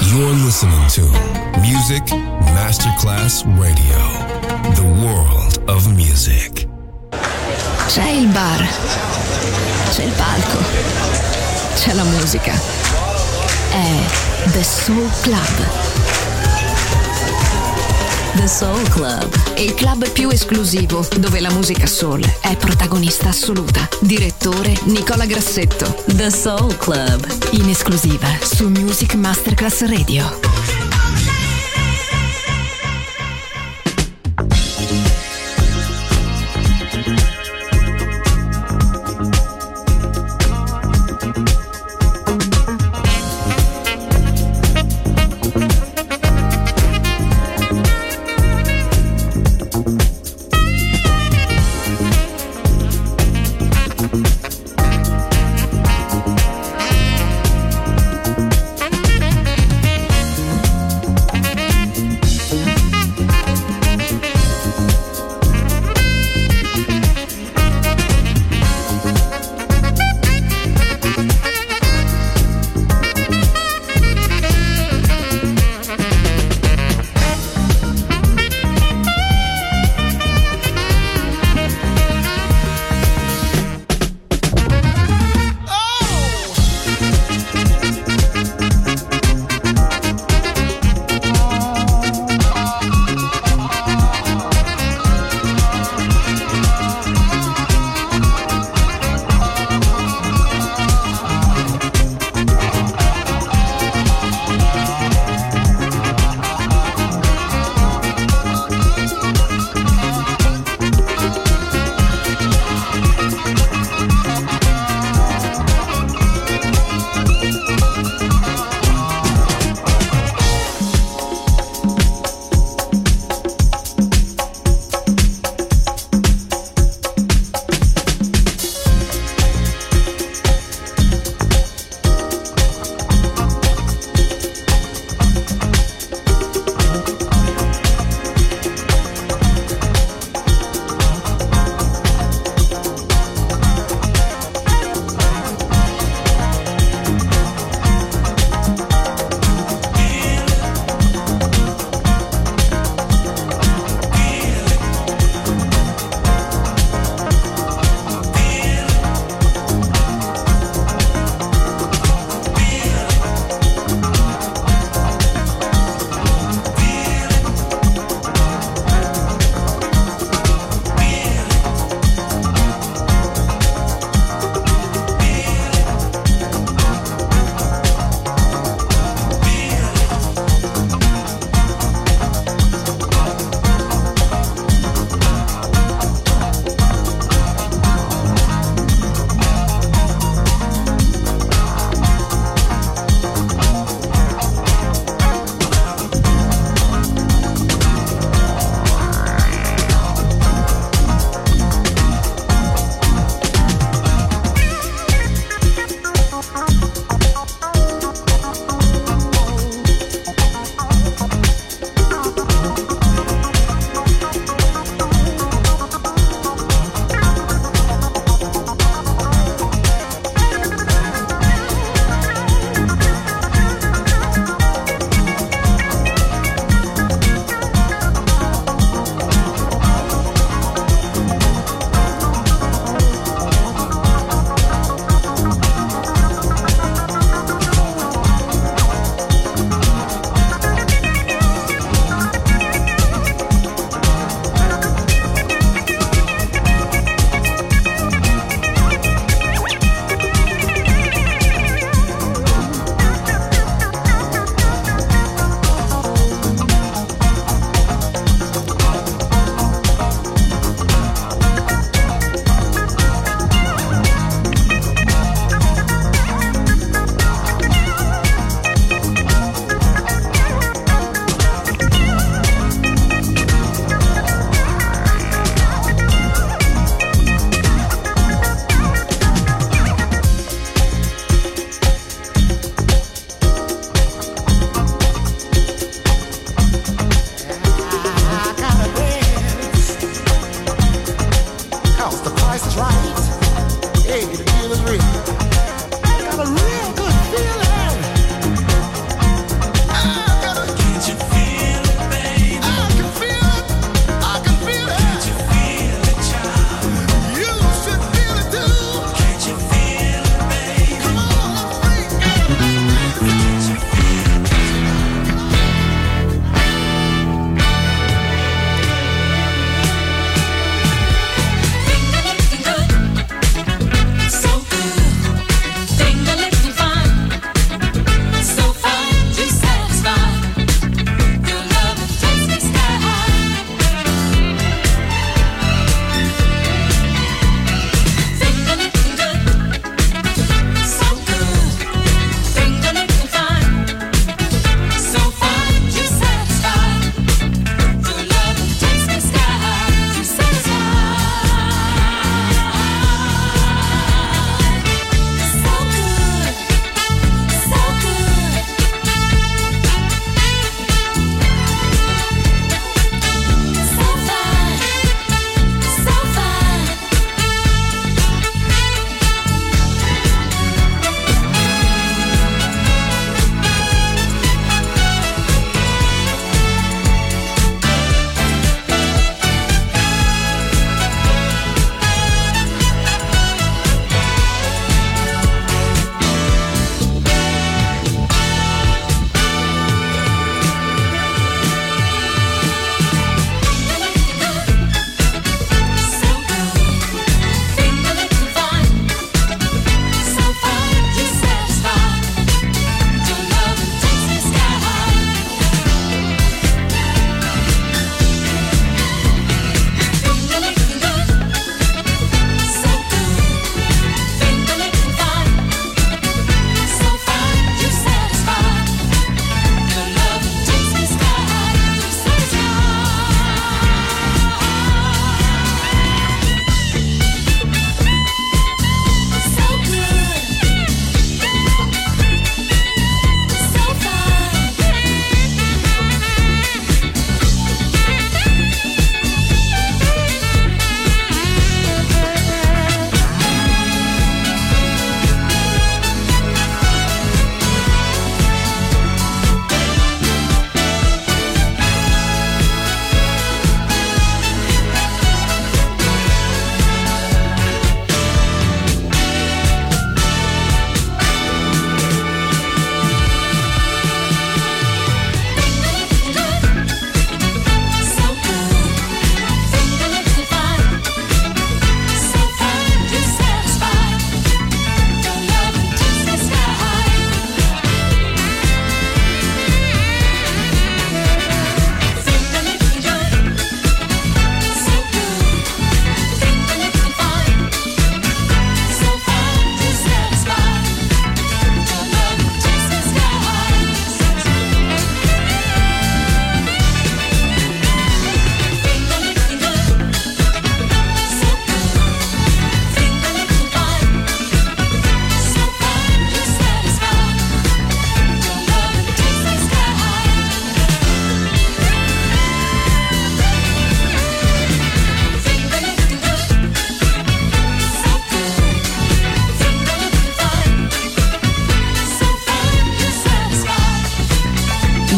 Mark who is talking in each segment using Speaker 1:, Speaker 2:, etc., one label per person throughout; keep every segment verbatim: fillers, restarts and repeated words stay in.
Speaker 1: You're listening to Music Masterclass Radio, the world of music.
Speaker 2: C'è il bar, c'è il palco, c'è la musica. È The Soul Club. The Soul Club, il club più esclusivo dove la musica soul è protagonista assoluta. Direttore Nicola Grassetto. The Soul Club, in esclusiva su Music Masterclass Radio.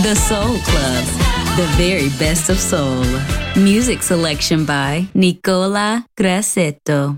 Speaker 2: The Soul Club, the very best of soul. Music selection by Nicola Grassetto.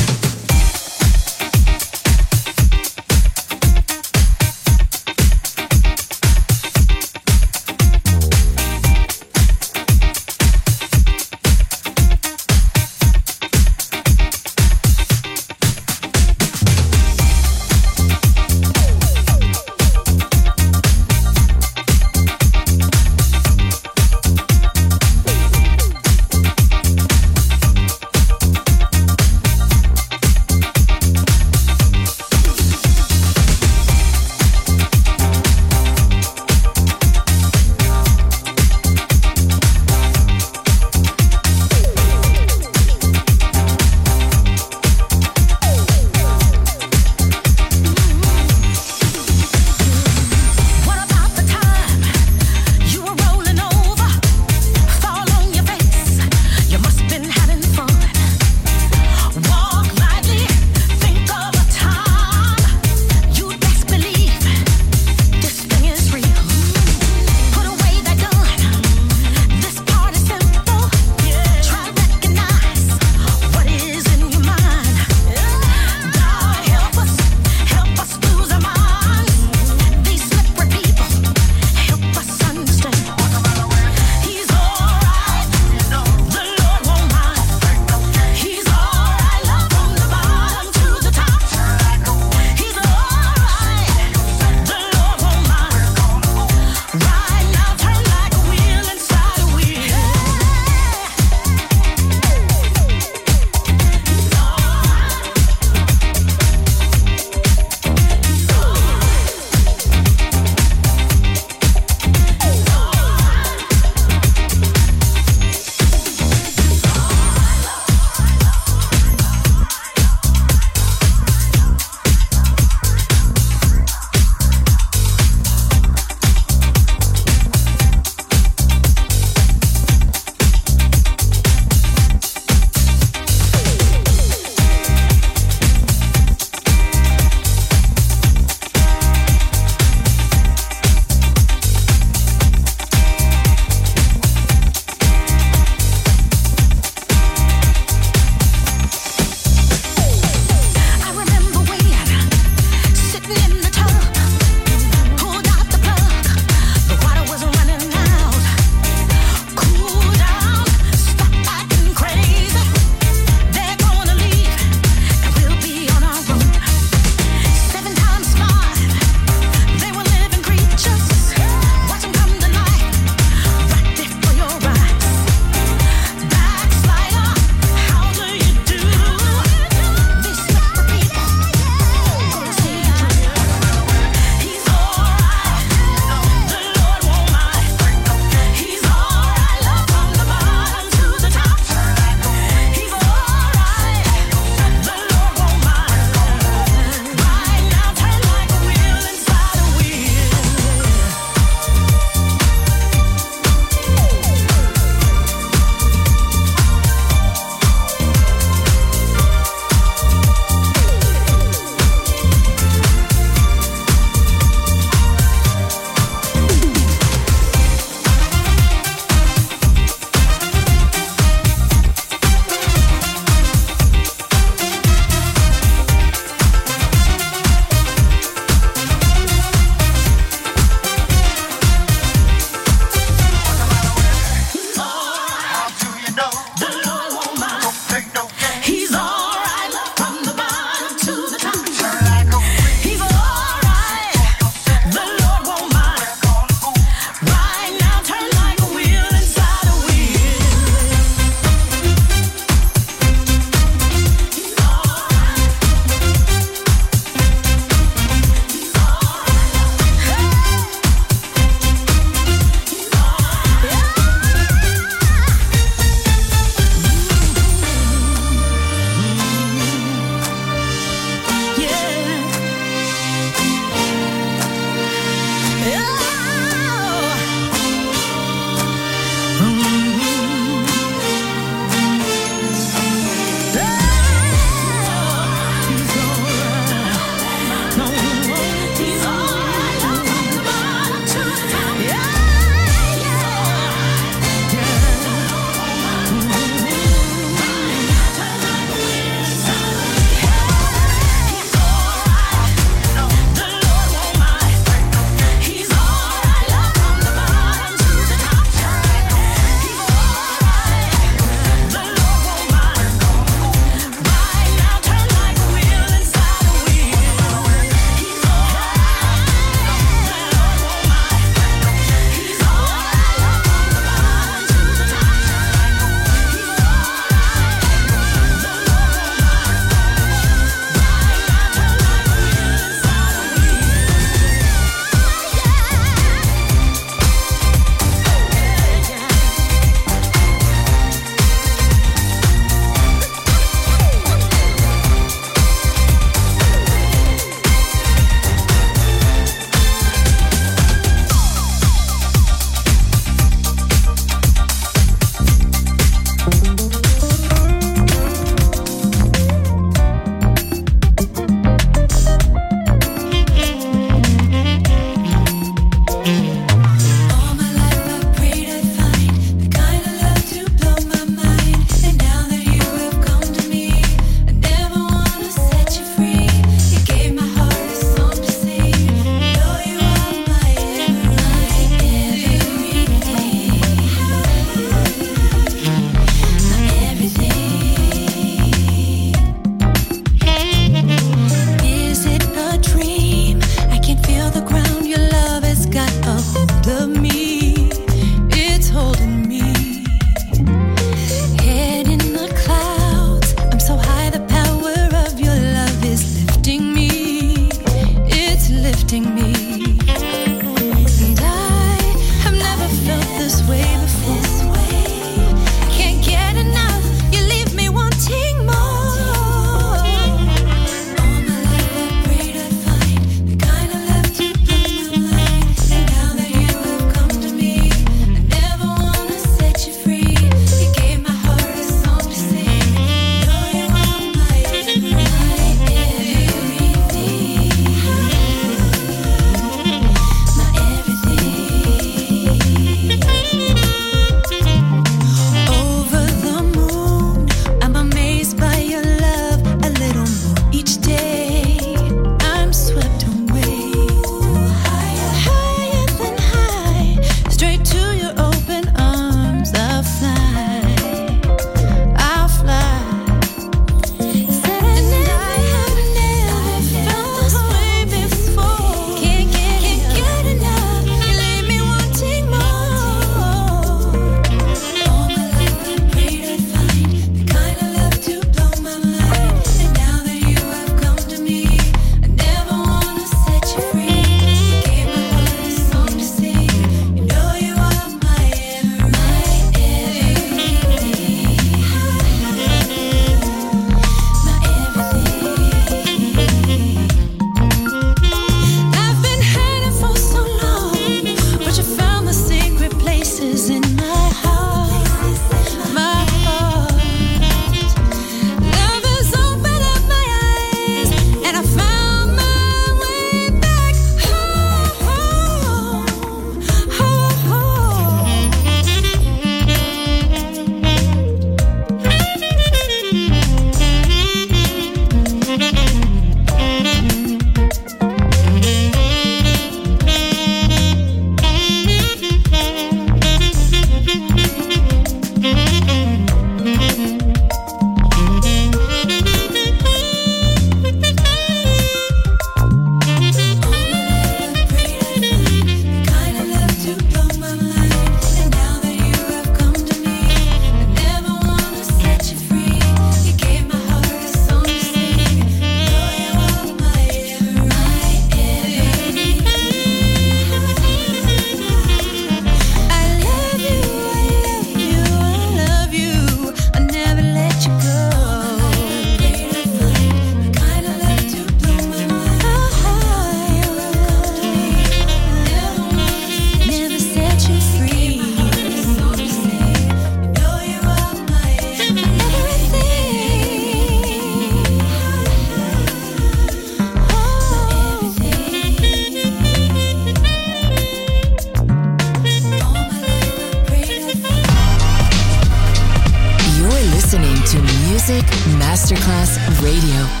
Speaker 2: Music Masterclass Radio.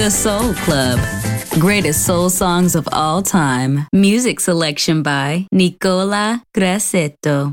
Speaker 3: The Soul Club. Greatest soul songs of all time. Music selection by Nicola Grassetto.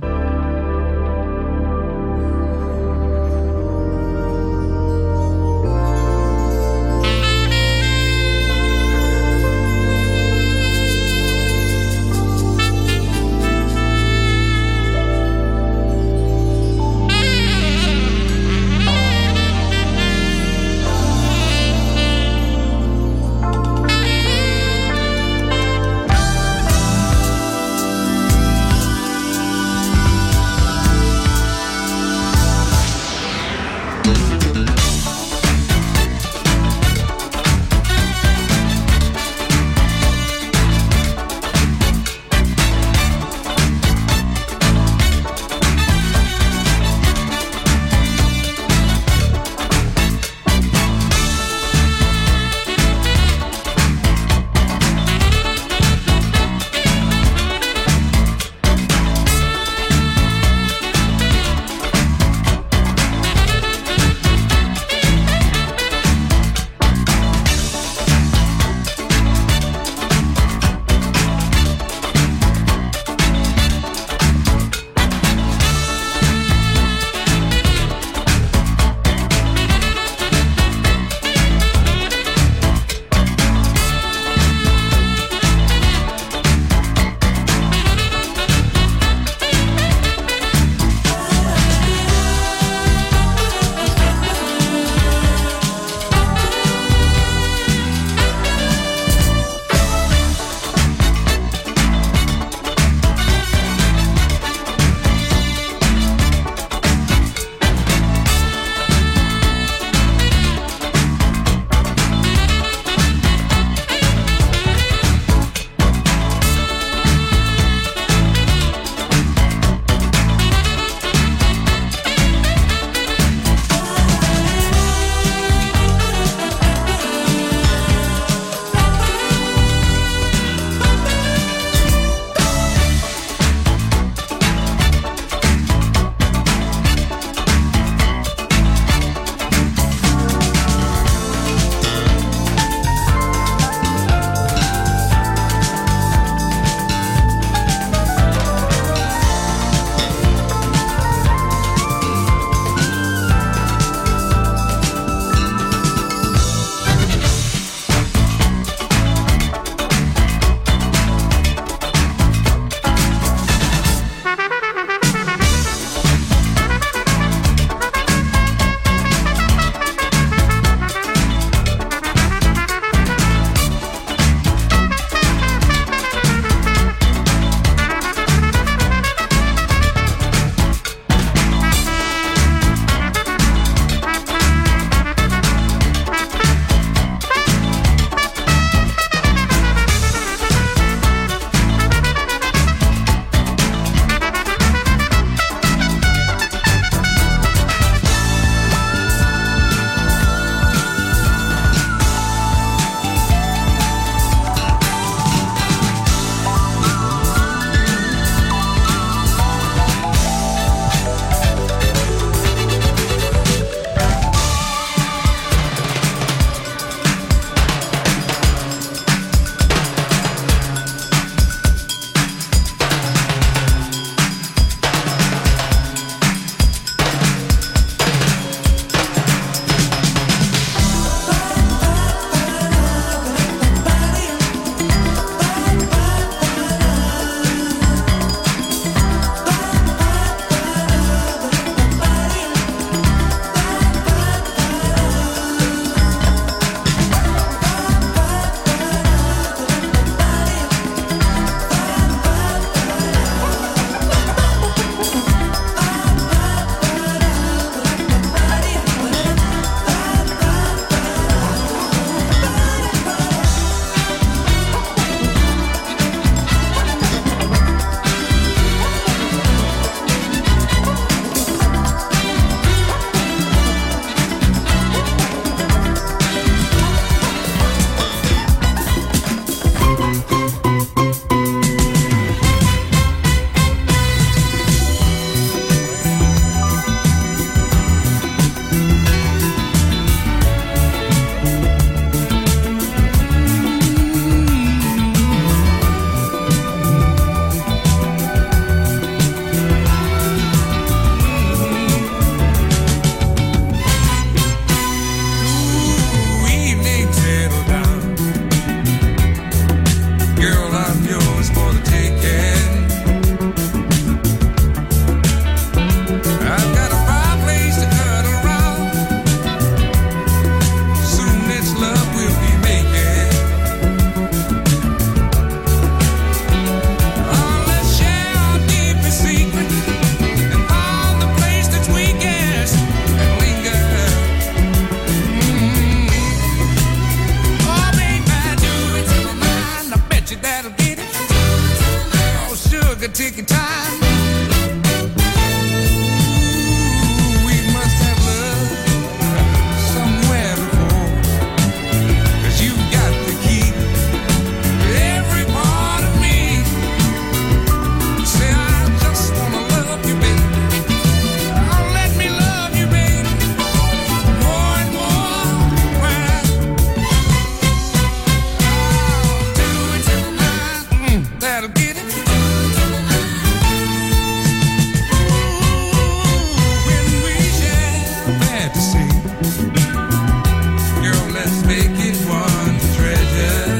Speaker 4: fantasy. Girl, let's make it one treasure.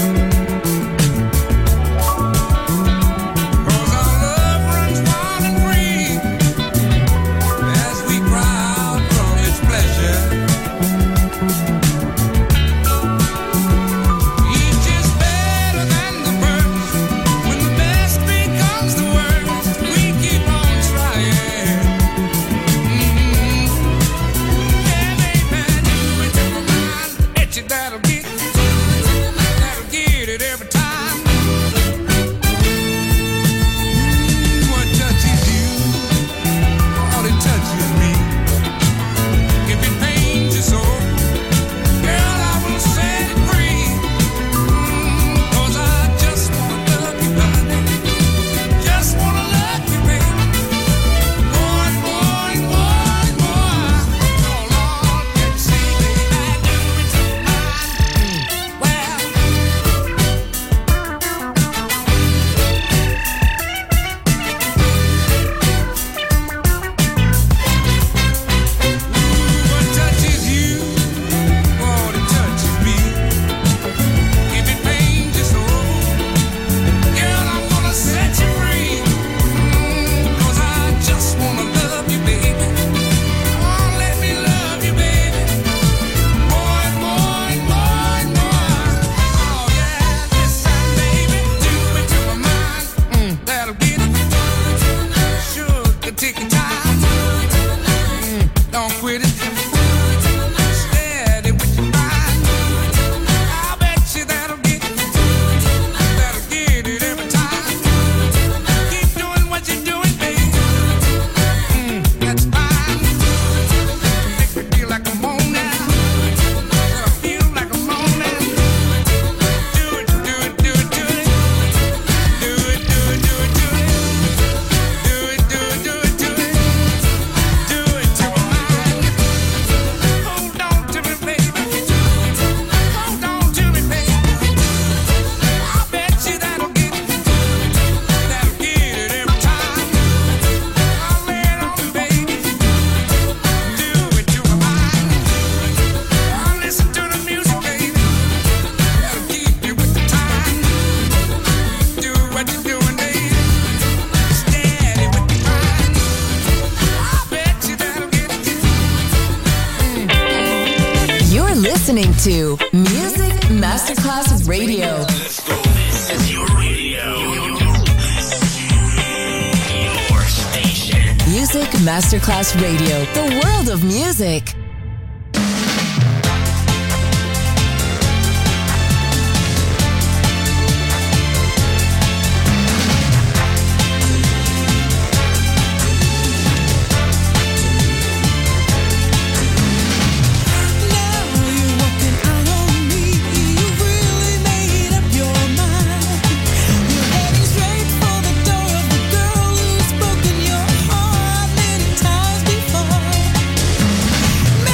Speaker 4: Cause our love runs wild and free as we cry out from its pleasure. Each is better than the first. When the best becomes the worst, we keep on trying. Mm-hmm. Yeah, baby, do it to my mind. Etch it, that'll get it. That'll get it every time. Mm, what touches you? All it touches me. If it pains your soul, girl, I will set it free. Mm, 'cause I just wanna love you, honey. Just wanna love you, baby. More and more and more and more. Oh, Lord, let's see, baby, I do it to mine. Well, what touches you? What it touches me. If it pains your soul, girl, I'm gonna set you free. Mm, 'cause I just wanna love you, baby. Oh, let me love you, baby. More and more and more and more. Oh, yeah, listen, baby, do it to my mind. Mm, that'll get it. Sugar, take your time. Mm, don't quit it. Steady with your mind. I bet you that'll get it. That'll get it every time. Keep doing what you're doing, baby. Mm, that's fine. Make me feel like I'm on now. I feel like I'm on now. Do it, do it, do it, do it. Do it, do it, do it, do it. Do it, do it, do it, do it. Do it to my mind. Hold on to me, baby. Hold on to me, baby. I bet you that'll get it. That'll get it every time. I'll lay it on you, baby. Do it to my mind. I'll listen to the music, baby. That'll keep you with the time. Do what you're doing, baby. Steady with the mind. I bet you that'll get it.
Speaker 2: You're listening to Music Masterclass Radio.
Speaker 5: Let's go. This is your radio. Your station.
Speaker 2: Music Masterclass Radio. The world of music.
Speaker 6: Spoken your heart many times before.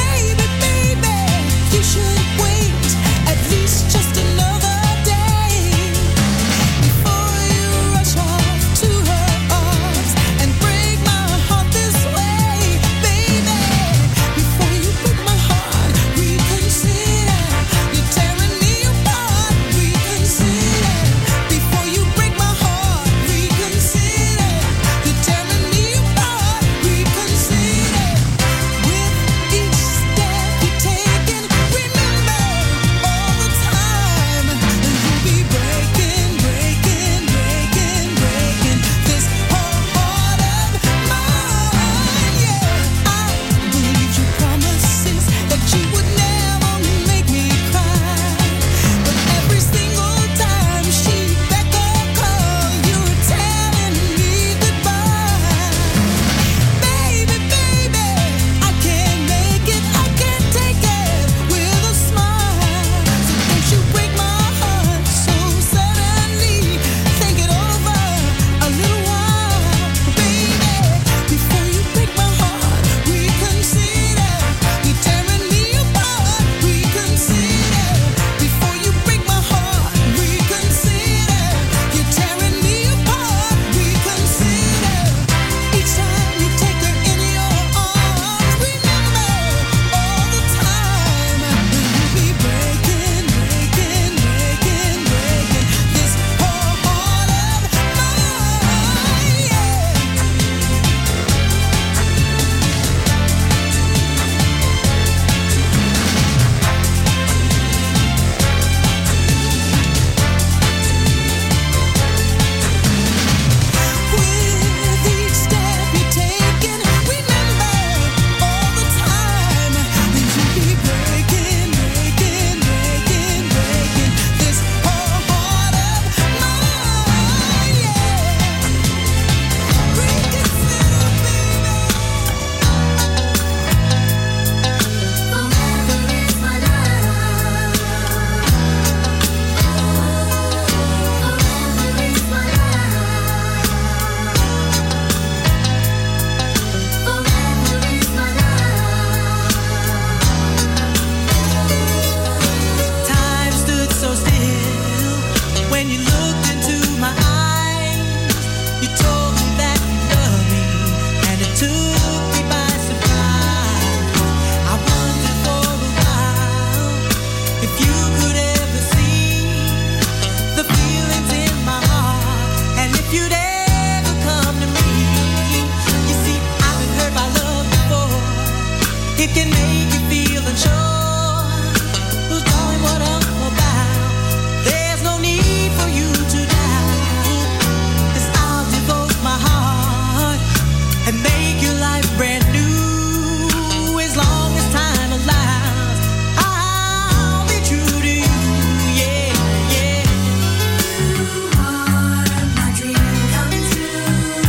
Speaker 6: even sure who's doing what I'm about. There's no need for you to doubt, 'cause I'll devote my heart and make your life brand new. As long as time allows, I'll be true to you. Yeah, yeah. You are my dream come true.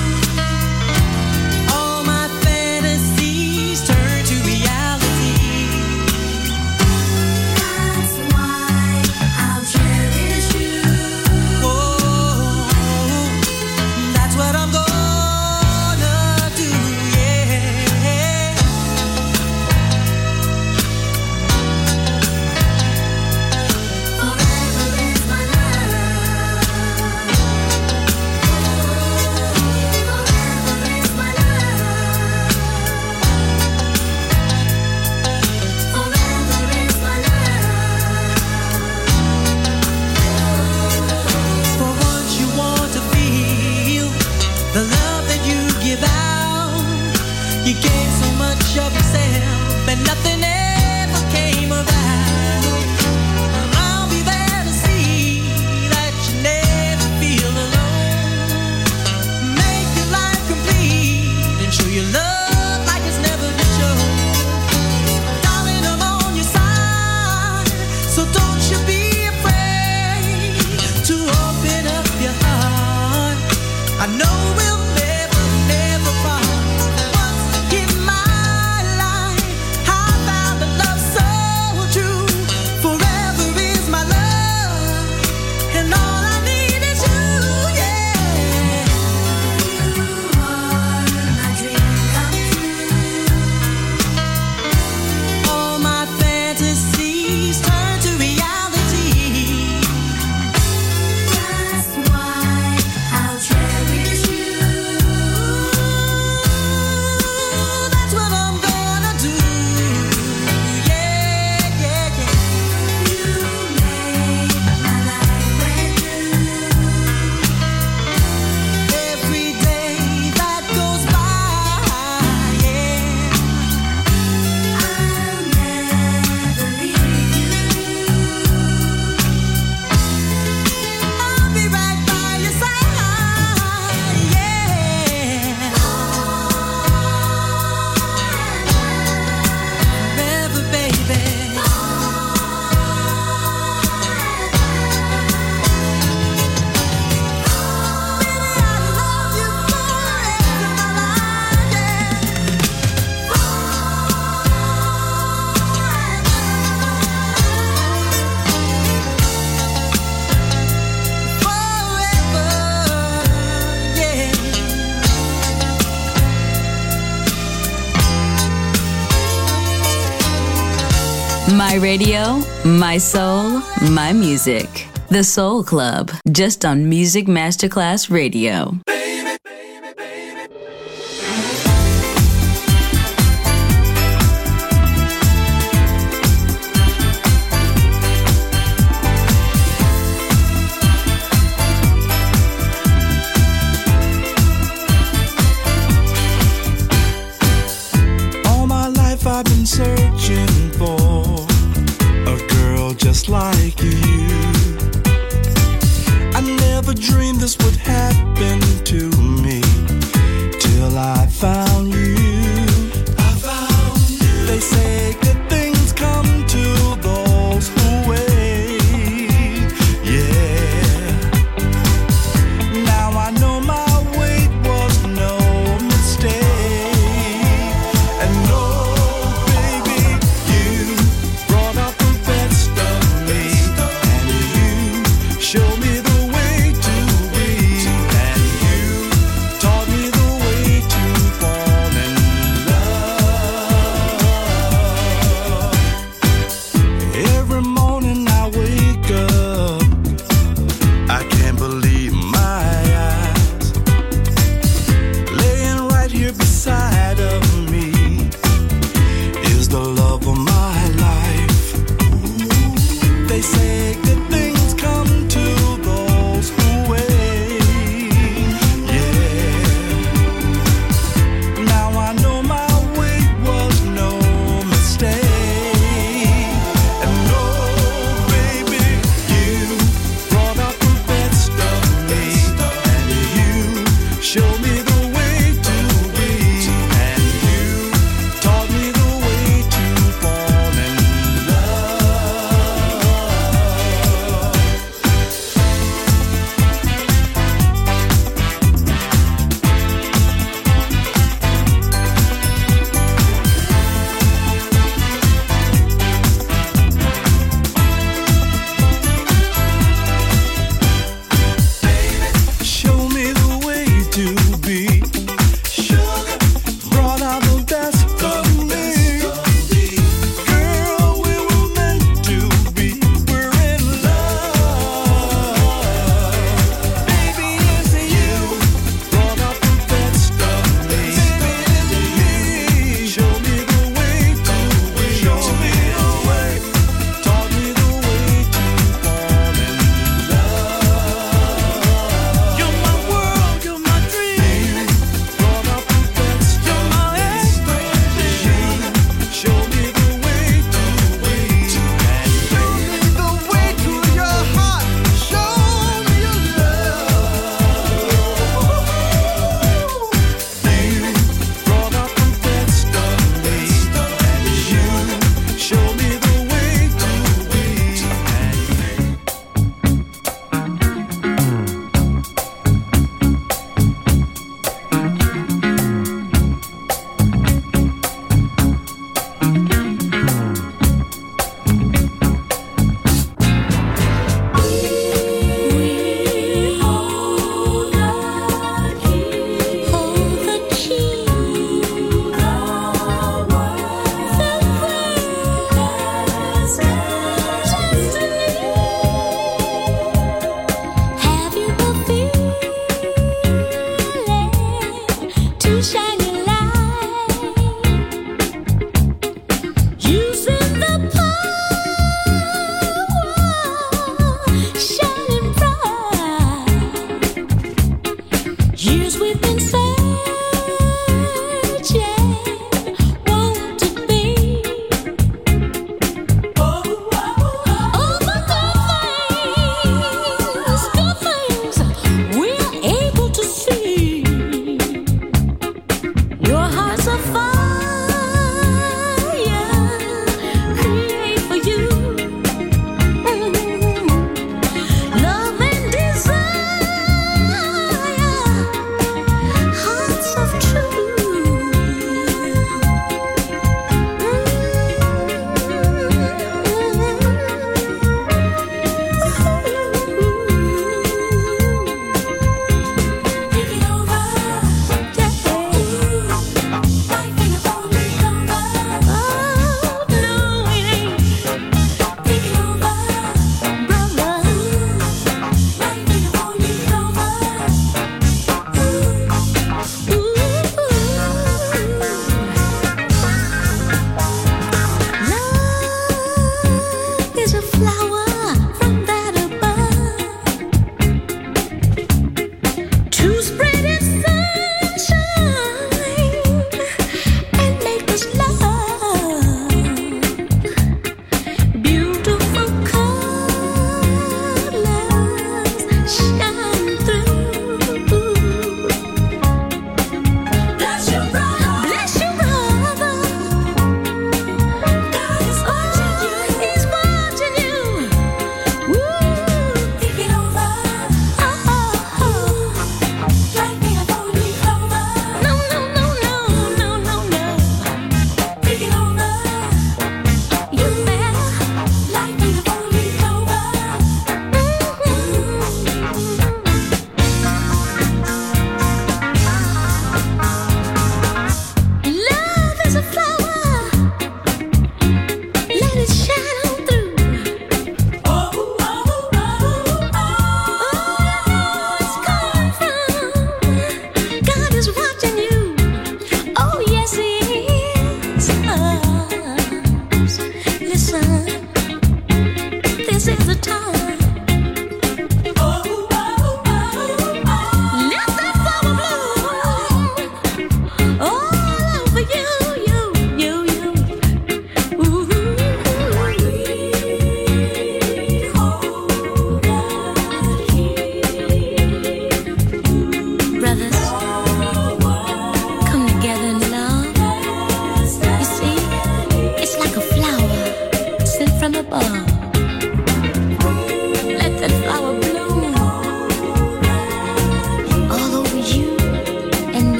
Speaker 6: All my fantasies turn to reality. That's why I'll cherish you. Oh, that's what I'm gonna do. Yeah. Forever is my love. Forever is my love. Forever is my love. For once you want to feel the love that you give out. You gave so much of yourself and nothing ever came about. I'll be there to see that you never feel alone. Make your life complete and show your love like it's never been shown. Darling, I'm on your side, so don't you be afraid to open up your heart. I know we'll never, never part. Once in my life, I found a love so true. Forever is my love, and all I need is you. Yeah. You are my dream come true. All my fantasies turn to reality. That's why I'll cherish you. That's what I'm gonna do. Yeah, yeah, yeah. You make my life brand new. Every day that goes by, yeah, I'll never leave you. I'll be right by your side, yeah. Forever, baby.
Speaker 3: My radio, my soul, my music. The Soul Club, just on Music Masterclass Radio.
Speaker 7: All my life I've been searching for a girl just like you. I never dreamed this would happen to me till I found you. I found you. They say good things come to those who wait. Yeah. Now I know my wait was no mistake. And oh, baby, you brought out the best of me. And you showed me the way to be. And you taught me the way to fall in love. Every morning I wake up, I can't believe my eyes. Laying right here beside of me is the love of my life. They say good things come to those who wait. Yeah. Now I know my wait was no mistake.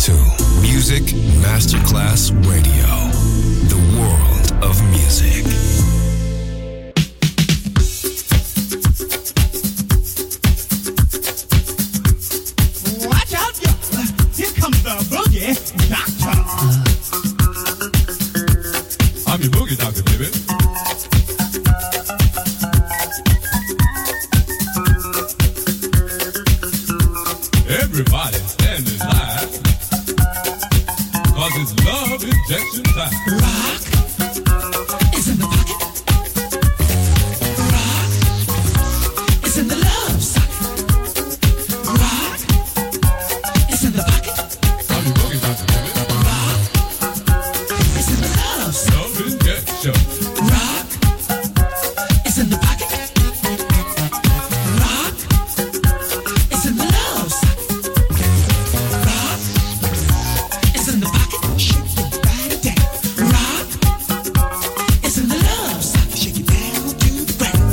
Speaker 1: to Music Masterclass Radio, the world of music.
Speaker 8: Watch out, yo! Here comes the boogie doctor.
Speaker 9: I'm your boogie doctor, baby. Everybody stand in line, cause it's love injection time.
Speaker 8: Rock is in the pocket. Rock is in the love socket. Rock is in the pocket.
Speaker 9: I'm your boogie doctor, baby.
Speaker 8: Rock is in the love socket.
Speaker 9: Love injection.
Speaker 8: Rock is in the pocket. Rock is in the love socket. Rock is in the pocket. Shake your body down. Rock is in the love socket. Shake it down to the ground.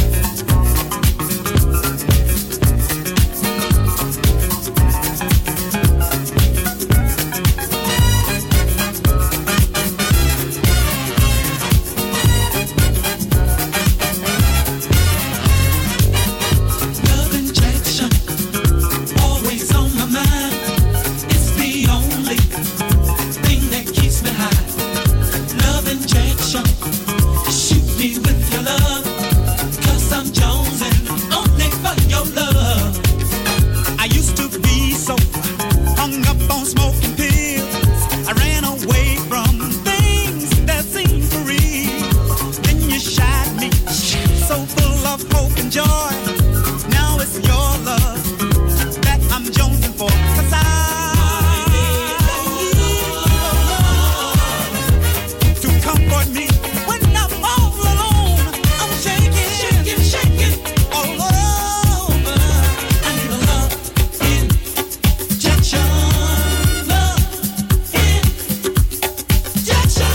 Speaker 8: Love injection, always on my mind. It's the only thing that keeps me high. Love injection, shoot me with your love, 'cause I'm jonesing only for your love. I used to be so hung up on smoking pills. I ran away from things that seemed for real. Then you shot me, so full of hope and joy. Now it's your love that I'm jonesing for. 'Cause I need your love to comfort me when I'm all alone. I'm shaking, shaking, shaking all over. I need a love injection, love injection.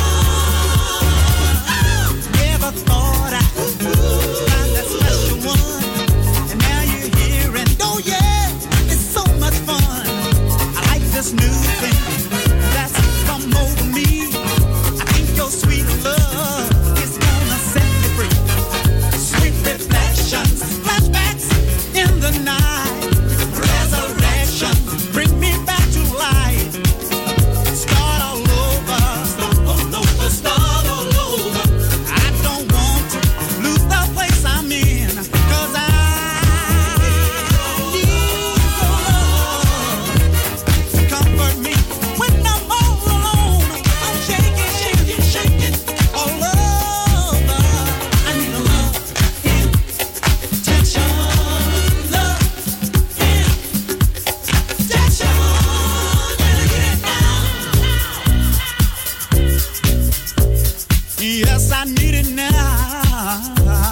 Speaker 8: Never thought I'd find that special one, and now you're here, and oh yeah, it's so much fun. I like this new thing that's come over me. I think your sweet love is gonna set me free. Sweet reflections, flashbacks in the night, resurrection, bring me back to life. Start all over, start all over, start all over. I don't want to lose the place I'm in, 'cause I need your love to comfort me when I'm all alone. I'm shaking, shaking, shaking all over. I need a love injection, love injection. Gotta get it now. Yes, I need it now.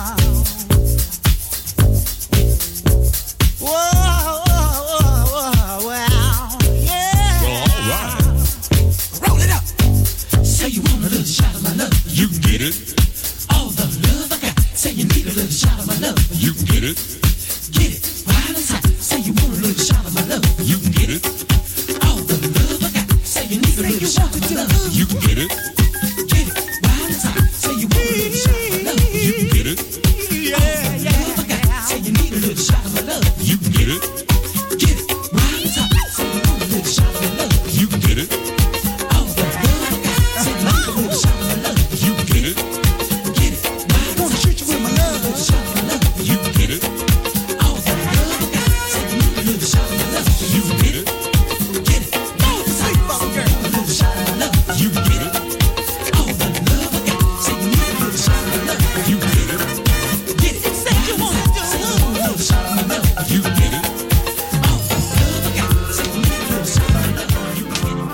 Speaker 8: Whoa, whoa, whoa, wow, yeah.
Speaker 9: Well, all right.
Speaker 8: Roll it up. Say you want a little shot of my love.
Speaker 9: You can get it.
Speaker 8: All the love I got. Say you need a little shot of my love.
Speaker 9: You can get it.
Speaker 8: Get it right inside. Say you want a little shot of my love.
Speaker 9: You can get it.
Speaker 8: All the love I got. Say you need a little shot of my love.
Speaker 9: You can get it.
Speaker 8: Get it right inside. Say you want a little shot of my love.
Speaker 9: You can get it.
Speaker 8: Yeah, yeah. Love I got. Say you need a little shot of my love.
Speaker 9: You can get it.
Speaker 8: Get it right inside. Say you want a little shot of my love.
Speaker 9: You can get it.
Speaker 8: All the love I got. Say you need a little shot of my love.
Speaker 9: You can get it.
Speaker 8: Get it right inside. Wanna shoot you with my love. Little shot of my love.
Speaker 9: You can get it.
Speaker 8: All the love I got. Say you need a little shot of my love.
Speaker 9: You can get it.
Speaker 8: Get it right inside. Say you want a little shot of my love.
Speaker 9: You can get it.
Speaker 8: All the love I got. Say you need a little shot of my love.
Speaker 9: You can get it.
Speaker 8: Get it. Say you want a little shot of my love.
Speaker 9: You can get it.
Speaker 8: All the love I got. Say you need a little shot of my love. You can get it.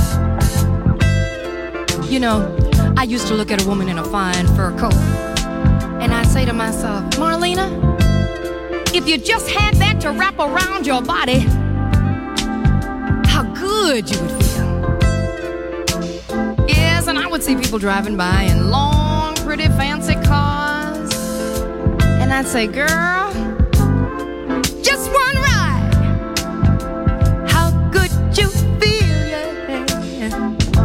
Speaker 10: You know, I used to look at a woman in a fine fur coat say to myself, Marlena, if you just had that to wrap around your body, how good you would feel. Yes, and I would see people driving by in long, pretty, fancy cars, and I'd say, girl, just one ride. How good you feel, yeah.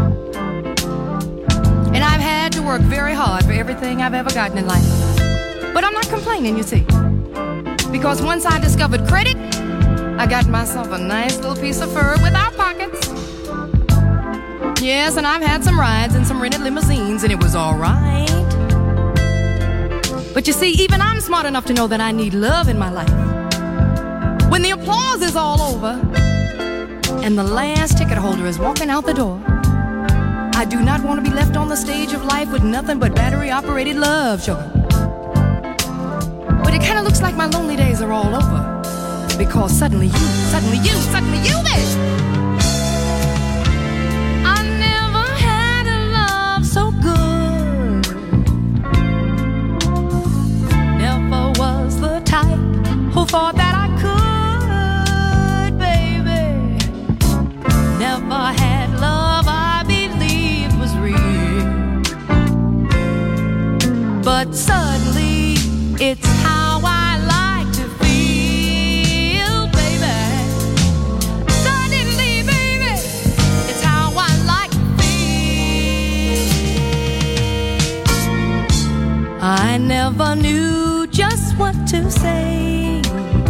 Speaker 10: And I've had to work very hard for everything I've ever gotten in life. But I'm not complaining, you see. Because once I discovered credit, I got myself a nice little piece of fur without pockets. Yes, and I've had some rides in some rented limousines, and it was all right. But you see, even I'm smart enough to know that I need love in my life. When the applause is all over, and the last ticket holder is walking out the door, I do not want to be left on the stage of life with nothing but battery-operated love, sugar. But it kind of looks like my lonely days are all over, because suddenly you, suddenly you, suddenly you, baby. I never had a love so good. Never was the type who thought that I could, baby. Never had love I believed was real. But suddenly it's how I like to feel, baby. Suddenly, baby, it's how I like to feel. I never knew just what to say.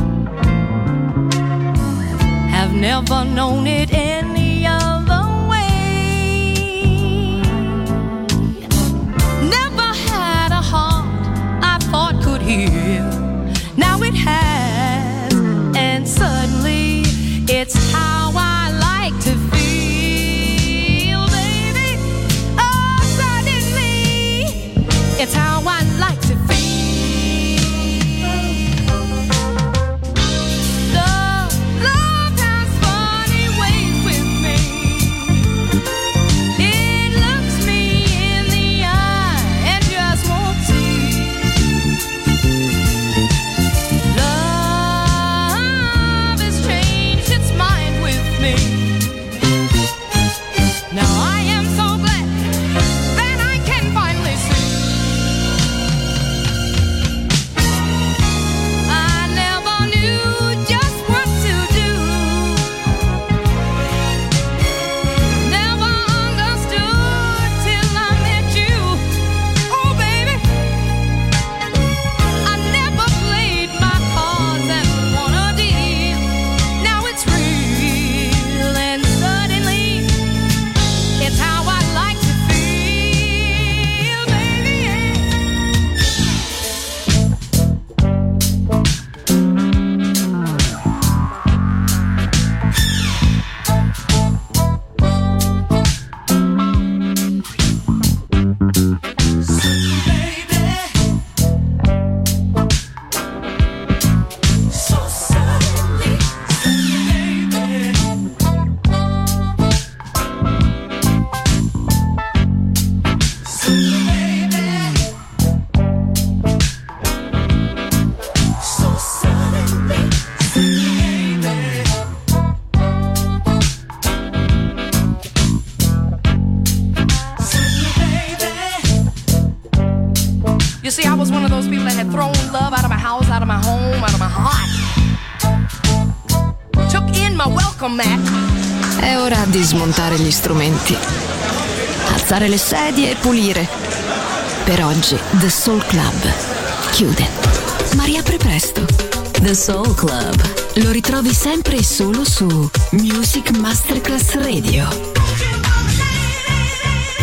Speaker 10: Have never known it any other way. Never had a heart I thought could heal. Now it has, and suddenly it's how I like to feel, baby. Oh, suddenly it's how I like to feel. Love, love has funny ways with me. It looks me in the eye and just won't see. Love has changed its mind with me. Now I am so glad that I can finally see. I never knew just what to do. Never understood till I met you. Oh, baby. I never played my cards and won a deal. Now it's real, and suddenly it's how I like to feel, baby. So suddenly, baby. So suddenly, you see, I was one of those people that had thrown love out of my house, out of my home, out of my heart. Took in my welcome mat.
Speaker 2: È ora di smontare gli strumenti, alzare le sedie e pulire. Per oggi The Soul Club chiude, ma riapre presto.
Speaker 3: The Soul Club.
Speaker 2: Lo ritrovi sempre e solo su Music Masterclass Radio.